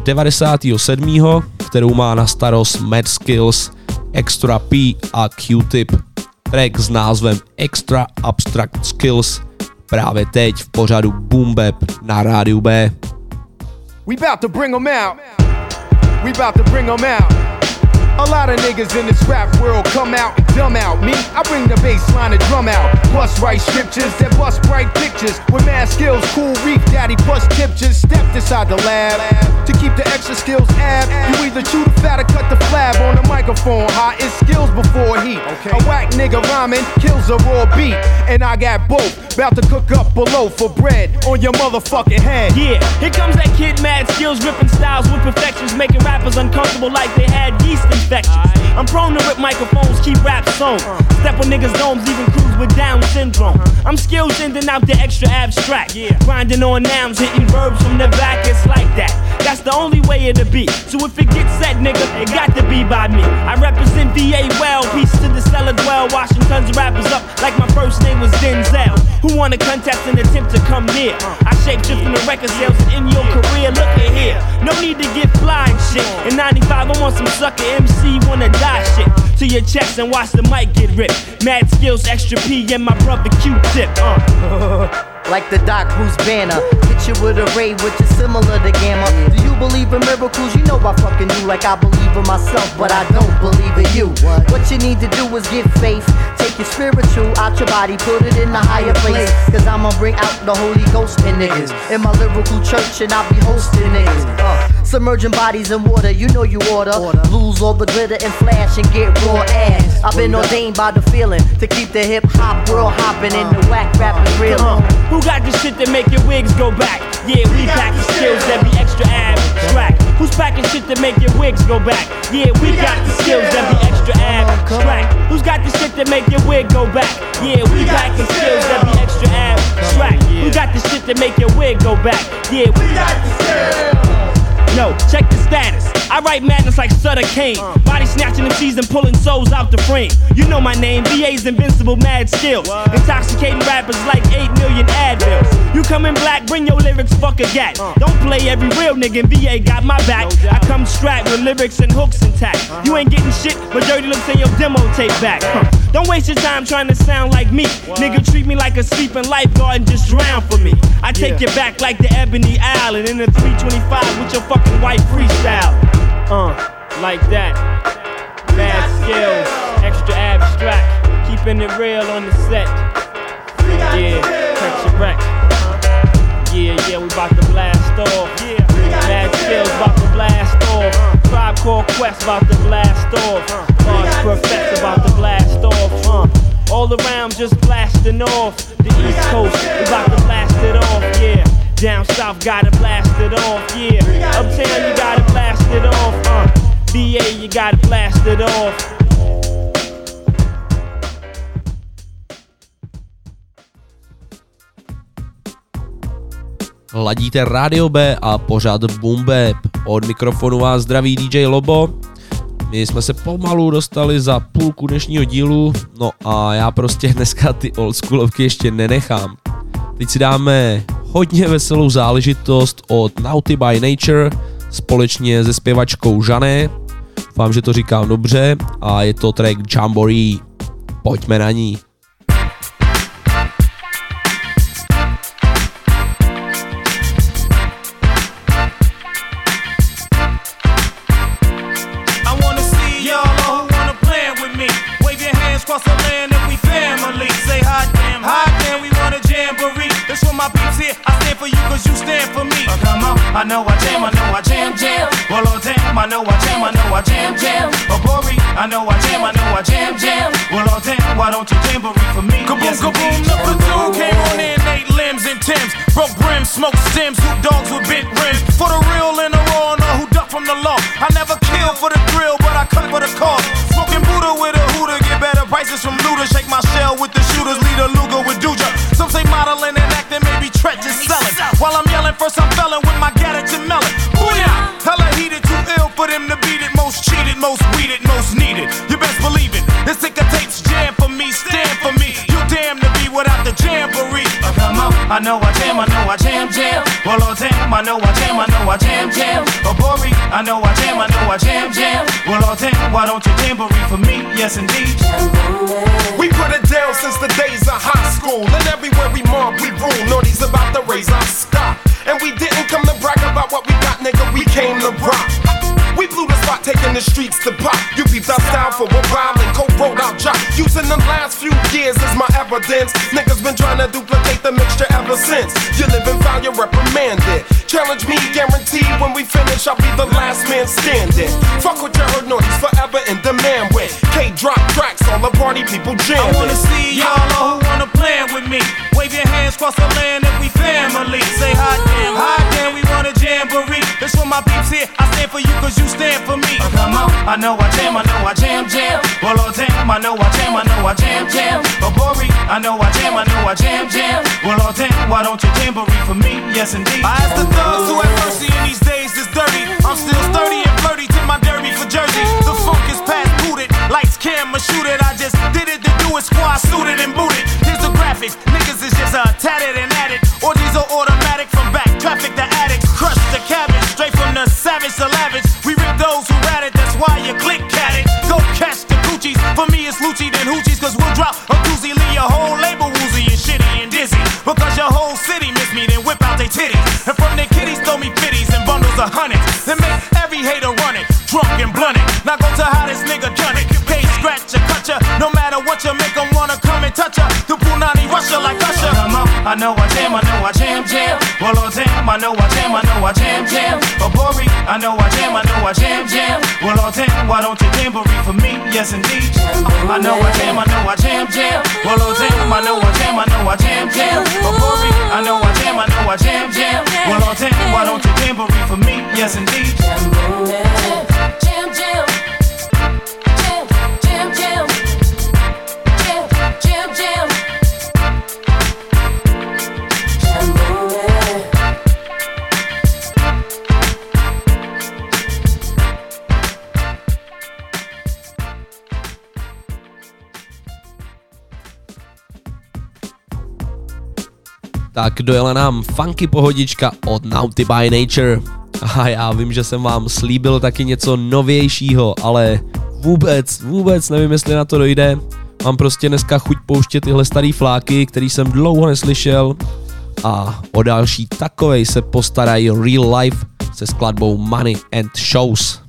97., kterou má na starost Mad Skills, Extra P a Q-Tip. Track s názvem Extra Abstract Skills právě teď v pořadu Boom Bap na rádiu B. We bout to bring 'em out. We bout to bring 'em out. A lot of niggas in this rap world come out, dumb out. Me, I bring the bass line and drum out. Plus write scriptures that bust bright pictures. With mad skills, cool reef, daddy plus tiptures. Stepped inside the lab to keep the extra skills ab. You either chew the fat or cut the flab on the microphone. Hot is skills before heat. A whack nigga rhyming kills a raw beat. And I got both, bout to cook up below for bread on your motherfucking head. Yeah, here comes that kid Mad Skills, ripping styles with perfections, making rappers uncomfortable like they had yeast infections. I'm prone to rip microphones, keep rap sewn. Step on niggas' domes, even crews with Down syndrome. I'm skilled sending out the extra abstract. Grinding on nouns, hitting verbs from the back, it's like that. That's the only way it'll be. So if it gets set, nigga, it got to be by me. I represent VA well, peace to the cellar dwell, washing tons of rappers up like my first name was Denzel. Who wanna contest and attempt to come near? I shapeshift in the record sales and in your career, look at here. No need to get fly and shit. In 95, I want some sucker MC, wanna die shit. To your chest and watch the mic get ripped. Mad Skills, Extra P, and my brother Q-Tip. like the Doc Bruce Banner. Hit you with a ray which is similar to Gamma. Do you believe in miracles? You know I fucking do, like I believe in myself, but I don't believe in you. What you need to do is get faith. Take your spiritual out your body, put it in a higher place. Cause I'ma bring out the Holy Ghost in niggas in my lyrical church, and I'll be hosting niggas. Submerging bodies in water, you know you order. Lose all the glitter and flash and get raw ass. I've been ordained by the feeling to keep the hip hop world hopping and the whack rapping real. Who got the shit that make your wigs go back? Yeah, we pack the skills that be extra abstract. Who's packing shit that make your wigs go back? Yeah, we got the skills that be extra abstract. Who's got the shit that make your wig go back? Yeah, we packing skills that be extra abstract. Who got the shit that make your wig go back? Yeah, we got the skills. Yo, check the status. I write madness like Sutter Kane. Body snatching MCs and pulling souls out the frame. You know my name, VA's invincible mad skills. Intoxicating rappers like 8 million Advils. You come in black, bring your lyrics, fuck a gat. Don't play every real nigga, VA got my back. I come strapped with lyrics and hooks intact. You ain't getting shit, but dirty looks in your demo tape back. Don't waste your time trying to sound like me. Nigga, treat me like a sleeping lifeguard and just drown for me. I take you back like the Ebony Island in a 325 with your fucking white freestyle. Like that. Mad skills, extra abstract. Keeping it real on the set. Yeah, catch a wreck. Yeah, we bout to blast off. Mad skills bout to blast off. Tribe Called Quest bout to blast off. Large Perfects about to blast off. All around just blasting off. The East Coast, we bout to blast it off. Yeah. Down south, gotta blast it off, yeah. Uptown, you gotta blast it off, VA, you gotta blast it off. Ladíte Radio B a pořád Boom Bap. Od mikrofonu vás zdraví DJ Lobo. My jsme se pomalu dostali za půlku dnešního dílu, no a já prostě dneska ty oldschoolovky ještě nenechám. Teď si dáme hodně veselou záležitost od Naughty by Nature společně se zpěvačkou Žané. Doufám, že to říkám dobře a je to track Jamboree. Pojďme na ní. I know I jam, jam. Well, oh damn, I know I jam, jam. Oh, Bori, I know I jam, jam. Well, oh damn, why don't you jamboree for me? Kaboom, yes, kaboom, number 2 came on in 8 limbs and Timbs. Broke brims, smoked stems, hoop dogs with bent rims. For the real and the raw, know who duck from the law. I never kill for the thrill, but I cut for the cause. Smoking Buddha with a hooter, get better prices from looter. Shake my shell with the shooters, lead a Luger with Duja. Some say modeling and acting, maybe Tret just selling. While I'm yelling, first I'm felling with my Gattatin melon. Booyah! Hella heated, too ill for them to beat it. Most cheated, most weeded, most needed. You best believe it. This ticker tapes jam for me, stand for me. You damn to be without the jamboree. Come on, I know I jam, jam. Well, oh damn, I know I jam, jam. Oh, Bori, I know I jam, jam. Well, oh damn, why don't you jamboree for me? Yes, indeed. We put it down since the days of high school. And everywhere we mob, we rule. Naughty's about to raise our stock. And we didn't come to brag about what we got, nigga, we came to rock. We blew the spot, taking the streets to pop. You peeped our style for a while and co-wrote our job. Using the last few years as my evidence. Niggas been trying to duplicate the mixture ever since. You live and foul, you're reprimanded. Challenge me, guaranteed when we finish, I'll be the last man standing. Fuck what you heard, Naughty's forever in demand with K-drop tracks, all the party people jamming. I wanna see y'all who wanna plan with me. Wave your hands across the land if we family. Say hot damn, we wanna jamboree. This for my peeps here, I stand for you cause you stand for me. Come on, I know I jam, jam. Well, oh damn, I know I jam, jam. Oh, Bori, I know I jam, jam. Well, oh damn, why don't you jamboree for me? Yes, indeed. I ask the thugs who have mercy in these days is dirty. I'm still sturdy and flirty to my derby for Jersey. The funk is past booted, lights, camera, shoot it. I just did it to do it, squad suited and booted. Here's the graphics, niggas is just tatted and added. Or these are automatic from back, traffic the addicts. Crush the cabbage, straight from the savage to lavish. We rip those who rat it, that's why you click at it. Go catch the Gucci's, for me it's Lucci then Hoochie's. Cause we'll drop a doozy, leave your whole label woozy and shitty and dizzy. Because your whole I know I jam, jam. Oh, Bori, I know I jam, jam. Well, all damn, why don't you jamboree for me? Yes, indeed. I know I jam, jam. Well, all damn, I know I jam, jam. Oh, Bori, I know I jam, jam. Well, all damn, why don't you jamboree for me? Yes, indeed. Jam, jam. Tak dojela nám funky pohodička od Naughty by Nature. A já vím, že jsem vám slíbil taky něco novějšího, ale vůbec nevím, jestli na to dojde. Mám prostě dneska chuť pouštět tyhle starý fláky, který jsem dlouho neslyšel. A o další takovej se postarají Real Life se skladbou Money and Shows.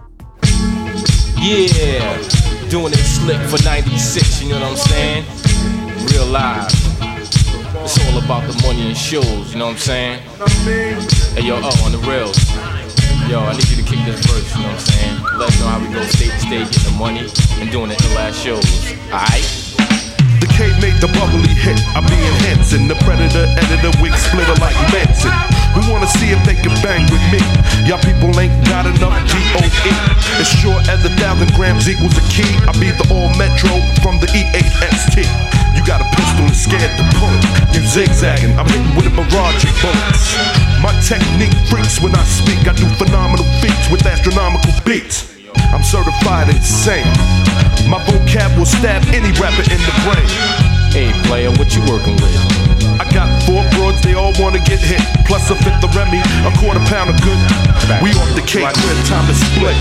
Yeah, doing it slick for 96, you know what I'm saying? Real life. It's all about the money and shows, you know what I'm saying? Hey yo, on the rails. Yo, I need you to kick this verse, you know what I'm saying? Let us know how we go state to state, getting the money and doing the ill-ass shows, alright? The K made the bubbly hit, I be enhancing. The predator editor wig splitter like Manson. We wanna see if they can bang with me. Y'all people ain't got enough G-O-E. As sure as 1,000 grams equals a key, I be the all metro from the E-A-S-T. You got a pistol and scared to pull it. You zigzagging, I'm hitting with a barrage of bullets. My technique freaks when I speak. I do phenomenal feats with astronomical beats. I'm certified insane. My vocab will stab any rapper in the brain. Hey player, what you working with? I got 4 broads, they all wanna get hit. Plus a fifth of Remy, a quarter pound of good. We off the cake, clear time to split.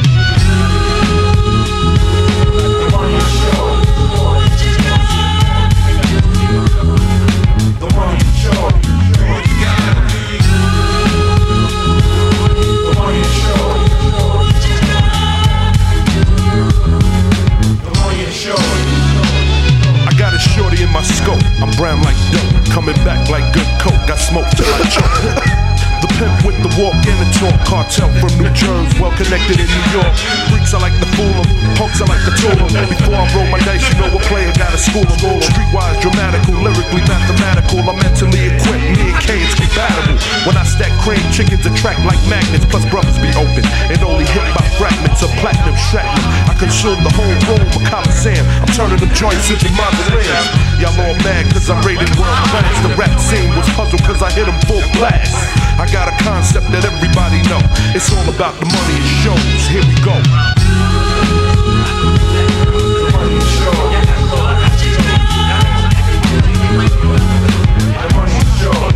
Shorty in my scope, I'm brown like dope, coming back like good coke, got smoke till I choke. The pimp with the walk and the talk, cartel from New Jersey, well connected in New York. Freaks I like to fool them, punks I like to tool them. Before I roll my dice, you know a player gotta school them. Streetwise, dramatical, lyrically mathematical, I'm mentally equipped, me and K is compatible. When I stack cream, chickens attract like magnets, plus brothers be open, and only hit by fragments of platinum shrapnel. I consume the whole room of Coliseum, I'm turning them joints into mausoleums. Y'all all mad cause I'm rated world class. The rap scene was puzzled cause I hit them full blast. I got a concept that everybody know. It's all about the money and shows. Here we go. The money and shows. The money and shows.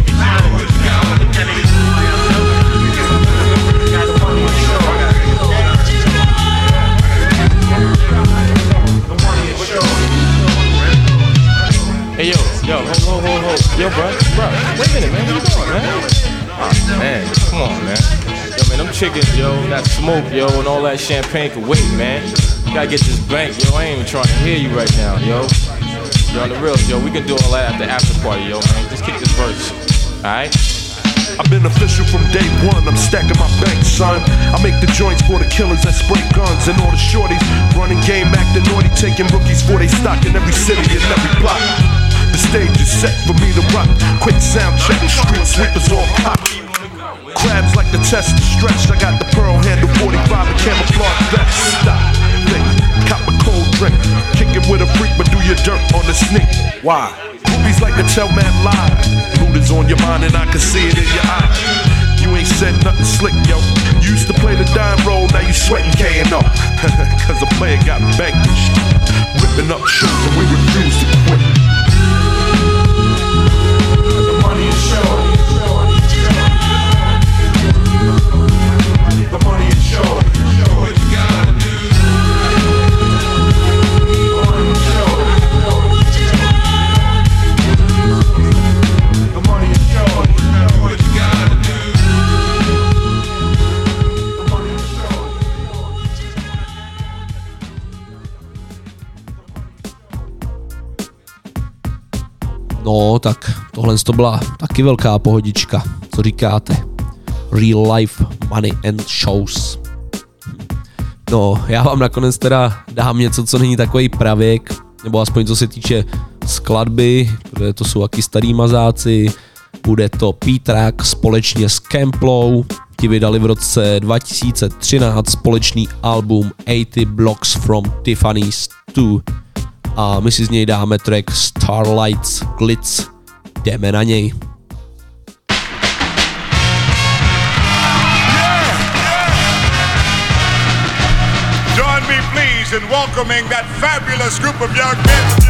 Hey yo, hold. Yo, bro, wait a minute, man, where you going, man? Oh, man, come on, man. Yo, man, them chickens, yo, that smoke, yo, and all that champagne can wait, man. You gotta get this bank, yo, I ain't even trying to hear you right now, yo. You're on the real, yo, we can do all that at the after party, yo, man. Just kick this verse, alright? I've been official from day one, I'm stacking my bank, son. I make the joints for the killers that spray guns and all the shorties running game, acting naughty, taking rookies for they stock in every city and every block. The stage is set for me to rock. Quick sound check, street sweepers all pop. Crabs like the test stretch. I got the pearl handle 45 and camouflage vest. Stop, think, cop a cold drink. Kick it with a freak, but do your dirt on the sneak. Why? Groupies like to tell man lies. Loot is on your mind and I can see it in your eyes. You ain't said nothing slick, yo. You used to play the dime roll, now you sweating K&O. Cause a player got vanquished. Ripping up shows and we refuse to quit. The money is short. The money is short. What you gotta do? The money is short. The money is short. What you gotta do? The money is short. No, tak tohle to byla taky velká pohodička, co říkáte? Real Life Money and Shows. No, já vám nakonec teda dám něco, co není takový pravěk, nebo aspoň co se týče skladby, protože to jsou taky starý mazáci. Bude to P-Track společně s Camplou, ti vydali v roce 2013 společný album 80 Blocks from Tiffany's 2 a my si z něj dáme track Starlights Glitz. Jdeme na něj. Join me please in welcoming that fabulous group of young men.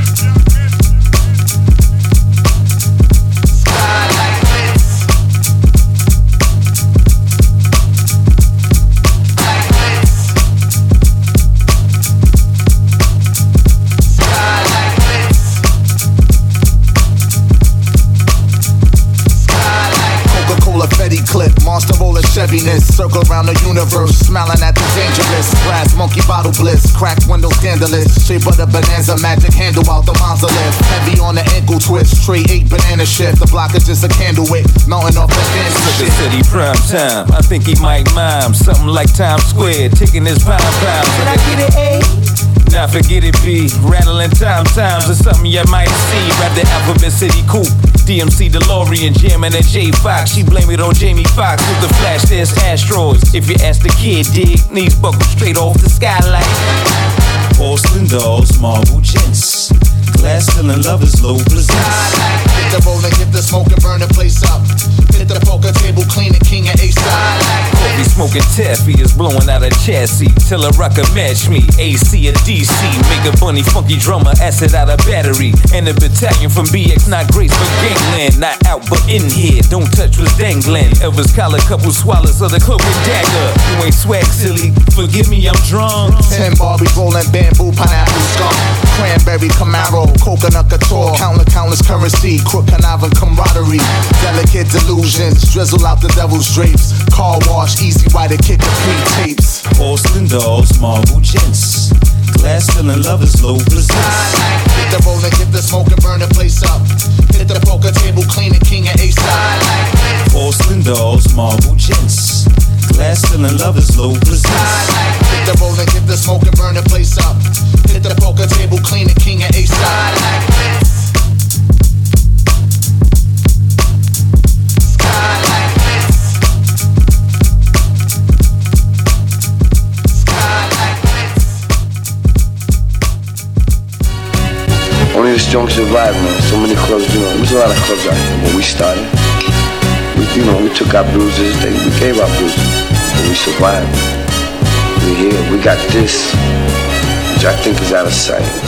Clip, monster roller Cheviness, circle around the universe, smiling at the dangerous. Glass monkey bottle bliss, cracked window scandalous. Shape of the bonanza, magic handle out the monolith. Heavy on the ankle twist, tray 8 banana shift. The block is just a candle wick, mounting off the dance the city prime time, I think he might mime something like Times Square, taking his pound. Can I get it A? Now forget it B, rattling times or something you might see. Rap the Alphabet City Coupe, DMC DeLorean, jamming at J Fox. She blame it on Jamie Foxx with the flash, there's asteroids. If you ask the kid, dig, knees buckled straight off the skylight. Porcelain dolls, marble gents, glass stealing lovers, low presents. Hit the roll and get the smoke and burn the place up. Hit the poker table, clean it, king and A-side. Kobe smoking taffy is blowing out a chassis. Till a rocker match me, AC or DC. Make a bunny funky drummer, acid out a battery. And a battalion from BX, not Grace but gangland. Not out but in here, don't touch what's dangling. Elvis collar, couple swallows of the cloak and dagger. You ain't swag silly, forgive me, I'm drunk. 10 Barbie rolling bamboo, pineapple skunk. Cranberry Camaro, coconut couture. Countless currency, crook conniving camaraderie. Delicate delusions, drizzle out the devil's drapes. Car wash, easy rider, kick the pre-tapes. Porcelain dolls, marble gents, glass stealing lovers, low presents. Hit the roll and get the smoke and burn the place up. Hit the poker table, clean it, king and A-side. Porcelain dolls, marble gents, glass stealing lovers, low presents. Hit the roll and get the smoke and burn the place up. Hit the poker table, clean it, king and A-side. Only the strong survive, man. So many clubs, there was a lot of clubs out here when we started. We took our bruises, we gave our bruises, but we survived. We're here, we got this, which I think is out of sight.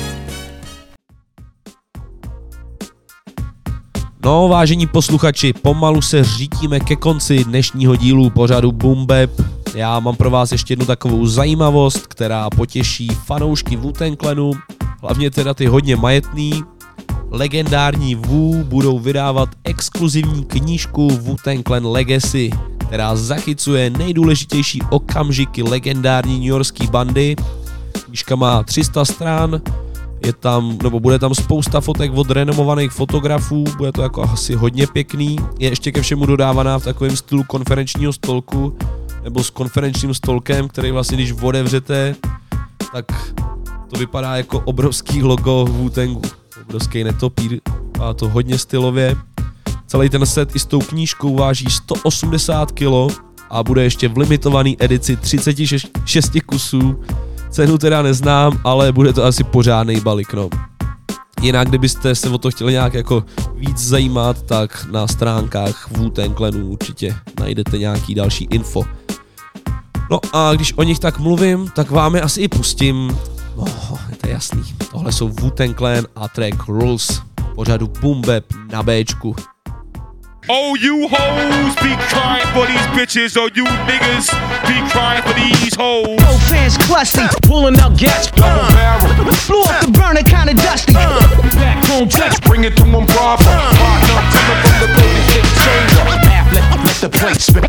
No, vážení posluchači, pomalu se řítíme ke konci dnešního dílu pořadu Boom Bap. Já mám pro vás ještě jednu takovou zajímavost, která potěší fanoušky Wu-Tang Clanu, hlavně teda ty hodně majetný. Legendární Wu budou vydávat exkluzivní knížku Wu-Tang Clan Legacy, která zachycuje nejdůležitější okamžiky legendární newyorské bandy. Knížka má 300 stran, bude tam spousta fotek od renomovaných fotografů, bude to jako asi hodně pěkný, je ještě ke všemu dodávaná v takovém stylu konferenčního stolku, nebo s konferenčním stolkem, který vlastně když otevřete, tak to vypadá jako obrovský logo Wu-Tangu, obrovský netopír, a to hodně stylově. Celý ten set i s tou knížkou váží 180 kg a bude ještě v limitované edici 36 kusů. Cenu teda neznám, ale bude to asi pořádnej balík, no. Jinak, kdybyste se o to chtěli nějak jako víc zajímat, tak na stránkách Wu-Tang Clanu určitě najdete nějaký další info. No a když o nich tak mluvím, tak vám je asi i pustím. No, je to jasný. Tohle jsou Wu-Tang Clan a track Rules. Pořadu Boom Bap na Bčku. Oh, you hoes be crying for these bitches, or you niggas be crying for these hoes. Both fans clutchly, pulling out gas, double barrel. Blew up the burner, kinda dusty. Back home flex, bring it to them proper. Partner, coming from the building, get chamber. let the plate spin.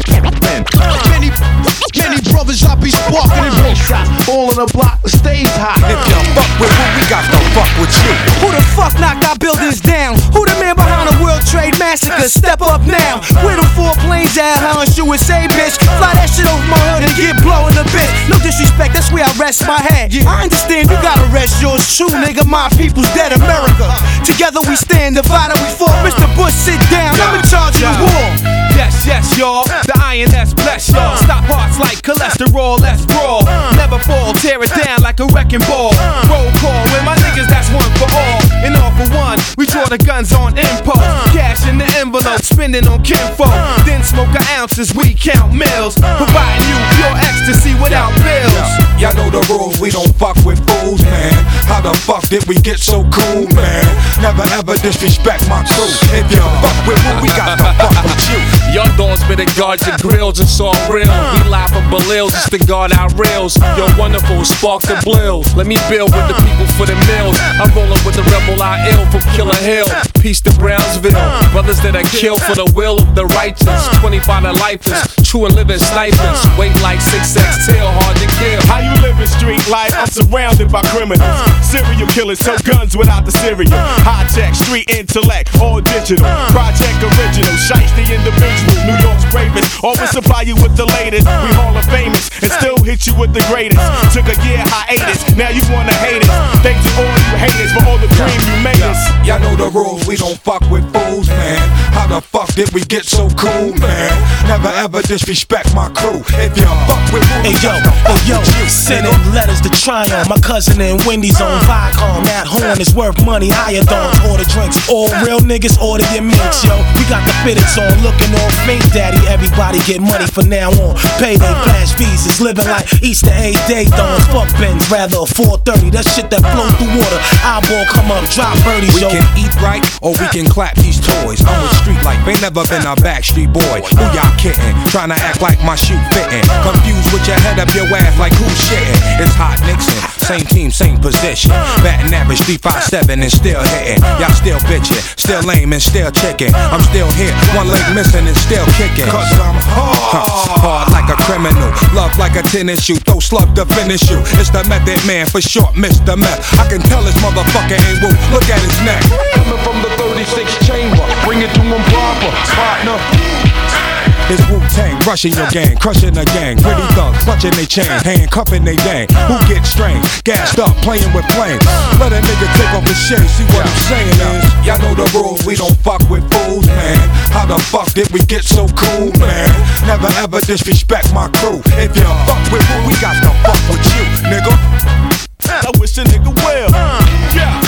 Many brothers I be sparking in real shots. All in the block, the stage hot. If you fuck with who, we got to fuck with you. Who the fuck knocked our buildings down? Who the man behind the World Trade Massacre? Step up now. Where them 4 planes at, huh? USA, bitch. Fly that shit over my hood and get blowing a bit. No disrespect, that's where I rest my head. I understand you gotta rest yours too, nigga. My people's dead, America. Together we stand, divided we fall. Mr. Bush, sit down. I'm in charge of the war. Yes, y'all. The INS bless y'all. Stop hearts like cholesterol, let's brawl. Never fall, tear it down like a wrecking ball. Roll call with my niggas, that's one for all. And all for one, we draw the guns on impulse. Cash in the envelope, spending on kinfolk. Then smoke our ounces, we count mills. Providing you pure ecstasy without bills. Y'all know the rules, we don't fuck with fools, man. How the fuck did we get so cool, man? Never ever disrespect my crew. If you fuck with who, we got to fuck with you. Your doors better guard your grills, it's all real. We live from Belils just to guard our rails. You're wonderful, spark the blills. Let me build with the people for the mills. I'm rolling with the rebel I ill from Killer Hill. Peace to Brownsville. Brothers that are killed for the will of the righteous. 25 to lifers, true and living snipers. Weight like 6X tail, hard to kill. How you living street life? I'm surrounded by criminals. Serial killers, so guns without the cereal. High tech, street intellect, all digital. Project original, shiesty individual. New York's bravest, always supply you with the latest. We Hall of Famous, and still hit you with the greatest. Took a year hiatus, now you wanna hate us. Thanks to all you haters for all the cream you made us. Y'all know the rules, we don't fuck with fools, man. How the fuck did we get so cool, man? Never ever disrespect my crew. If you fuck with who, yo, sending letters to Tryon. My cousin and Wendy's on Viacom. That horn is worth money, higher dogs, order drinks. All real niggas order your minks, yo. We got the fitteds on, looking all fake, daddy. Everybody get money from now on. Payday, flash visas, living like Easter egg day dawns. Fuck Benz, rather a 430. That shit that flow through water. Eyeball come up, drop birdies, we yo. We can eat right, or we can clap these toys. I'm with street life, ain't never been a backstreet boy. Who y'all kidding? Trying to act like my shoe fitting. Confused with your head up your ass like who's shitting. It's Hot Nixon, same team, same position. Batting average 357 and still hitting. Y'all still bitching, still lame and still chicken. I'm still here, one leg missing and still kicking. Cause I'm hard like a criminal, love like a tennis shoe, throw slug to finish you. It's the Method Man, for short, Mr. Meth. I can tell this motherfucker ain't woo, look at his neck. Coming from the 36 chamber, bring it to him proper, partner. It's Wu-Tang, rushing your gang, crushing the gang. Pretty thugs, clutching they chain, handcuffing they dang. Who gets strained, gassed up, playing with flames. Let a nigga take off his shit, see what I'm saying is. Y'all know the rules, we don't fuck with fools, man. How the fuck did we get so cool, man? Never ever disrespect my crew. If you fuck with who, we got to fuck with you, nigga. I wish a nigga well. Yeah.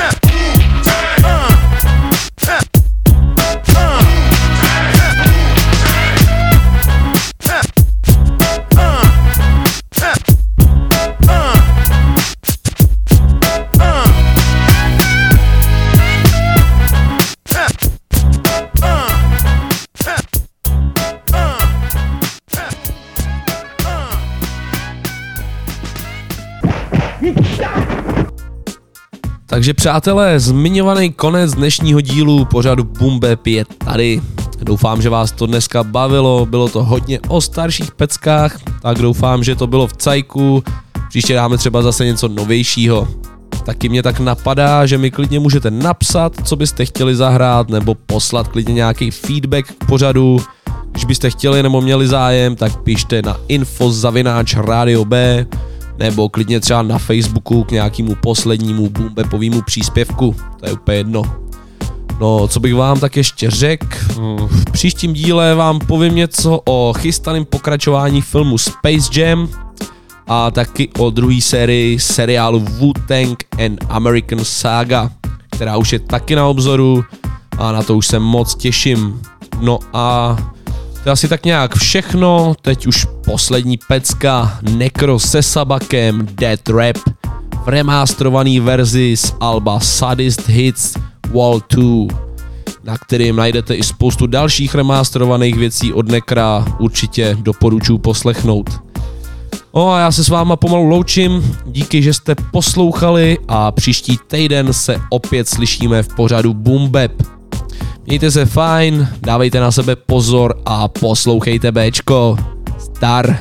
Takže přátelé, zmiňovaný konec dnešního dílu pořadu Boom Bap je tady. Doufám, že vás to dneska bavilo, bylo to hodně o starších peckách, tak doufám, že to bylo v cajku. Příště dáme třeba zase něco novějšího. Taky mě tak napadá, že mi klidně můžete napsat, co byste chtěli zahrát, nebo poslat klidně nějaký feedback k pořadu. Když byste chtěli nebo měli zájem, tak pište na info@Radio-B, nebo klidně třeba na Facebooku k nějakému poslednímu boombapovému příspěvku, to je úplně jedno. No, co bych vám tak ještě řekl, v příštím díle vám povím něco o chystaném pokračování filmu Space Jam a taky o druhé sérii seriálu Wu-Tang and American Saga, která už je taky na obzoru a na to už se moc těším. No a to je asi tak nějak všechno, teď už poslední pecka, Necro se Sabakem, Dead Rap, v remasterovaný verzi z alba Saddest Hits Wall 2, na kterým najdete i spoustu dalších remasterovaných věcí od Necra, určitě doporučuji poslechnout. No a já se s váma pomalu loučím, díky, že jste poslouchali a příští týden se opět slyšíme v pořadu Boom Bap. Mějte se fajn, dávejte na sebe pozor a poslouchejte Bčko. Star.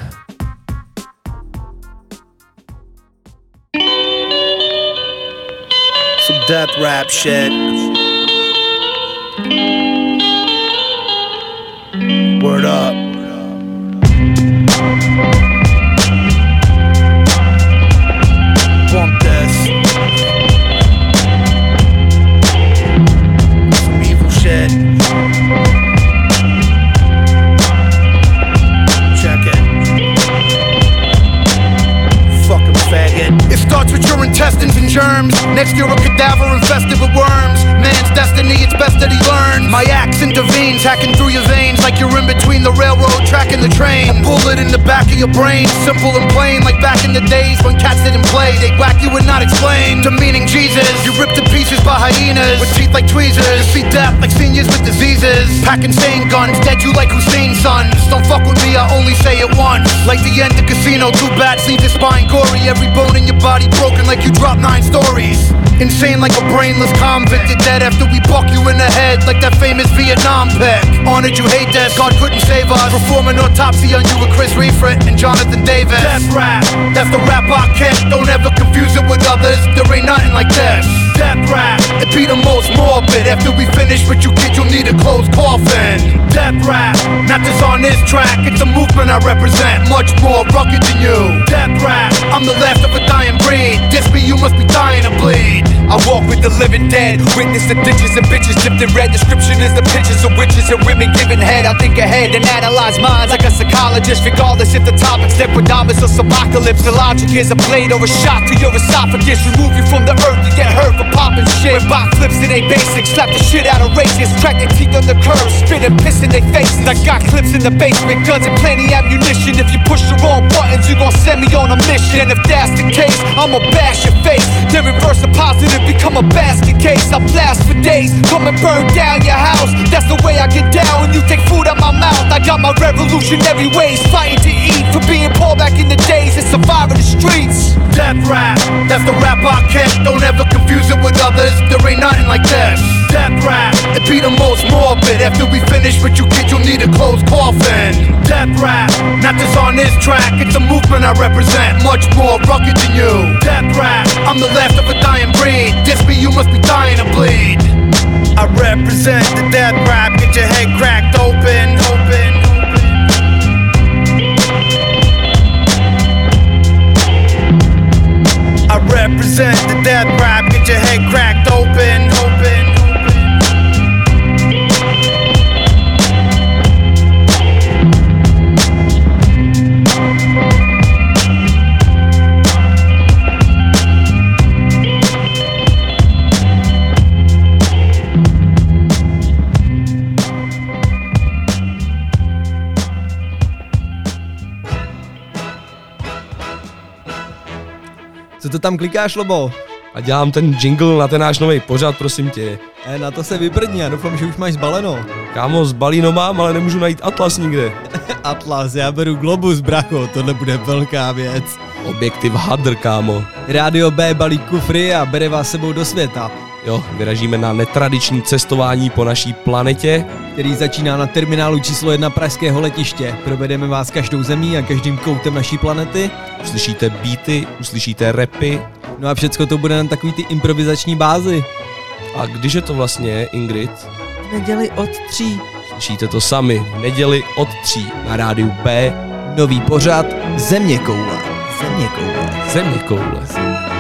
Some death rap shit. Word up. Bump this. Some evil shit. Check it. Fucking faggot. It starts with your intestines and germs. Next you're a cadaver infested with worms. Man's destiny, it's best that he learns. My axe intervenes, hacking through your veins like you're in between the railroad track and the train. A bullet in the back of your brain, simple and plain, like back in the days when cats didn't play. They'd whack you and not explain. Demeaning Jesus, you ripped to pieces by hyenas with teeth like tweezers. You see death like seniors with diseases. Packing sane guns, dead you like Hussein's sons. Don't fuck with me, I only say it once. Like the end of Casino, too bad, leave your spine gory. Every bone in your body broken like you dropped 9 stories. Insane like a brainless convict. You're dead after we buck you in the head like that famous Vietnam pick. Honored you hate death, God couldn't save us. Perform an autopsy on you with Chris Refrit and Jonathan Davis. Death rap, that's the rap I kick. Don't ever confuse it with others, there ain't nothing like this. Death rap, it be the most morbid. After we finish with you kids, you'll need a closed coffin. Death rap, not just on this track, it's a movement I represent, much more rugged than you. Death rap, I'm the last of a dying breed. Diss me, you must be dying to bleed. I walk with the living dead, witness the ditches and bitches dipped in red. Description is the pictures of witches and women giving head. I think ahead and analyze minds like a psychologist, regardless if the topic's Nequadamus or Subocalypse. The logic is a blade or a shot to your esophagus, remove you from the earth, you get hurt for popping shit. When Bach flips it ain't basic, slap the shit out of racists, crack their teeth on the curb, spit and piss in their faces. I got clips in the basement, guns and plenty ammunition. If you push the wrong buttons, you gon' send me on a mission. And if that's the case, I'ma bash your face, then reverse the positive, become a basket case. I blast for days, come and burn down your house. That's the way I get down when you take food out my mouth. I got my revolutionary ways, fighting to eat, for being poor back in the days and surviving the streets. Death rap, that's the rap I kick. Don't ever confuse it with others, there ain't nothing like this. Death rap, it be the most morbid. After we finish with you kids, you'll need a closed coffin. Death rap, not just on this track, it's a movement I represent, much more rugged than you. Death rap, I'm the last of a dying breed. Diss me, you must be dying to bleed. I represent the death rap, get your head cracked open, open. I represent the death rap, get your head cracked open, open. Co to tam klikáš, Lobo? A dělám ten jingle na ten náš nový pořad, prosím tě. Na to se vyprdni, já doufám, že už máš zbaleno. Kámo, zbalíno mám, ale nemůžu najít Atlas nikde. Atlas, já beru Globus, bracho, tohle bude velká věc. Objektiv Hadr, kámo. Rádio B balí kufry a bere vás sebou do světa. Jo, vyražíme na netradiční cestování po naší planetě, který začíná na terminálu číslo 1 pražského letiště. Provedeme vás každou zemí a každým koutem naší planety. Uslyšíte beaty, uslyšíte rapy. No a všecko to bude na takový ty improvizační bázi. A když je to vlastně, Ingrid? V neděli od 3. Slyšíte to sami, v neděli od 3 na rádiu B. Nový pořad Zeměkoule. Zeměkoule. Zeměkoule.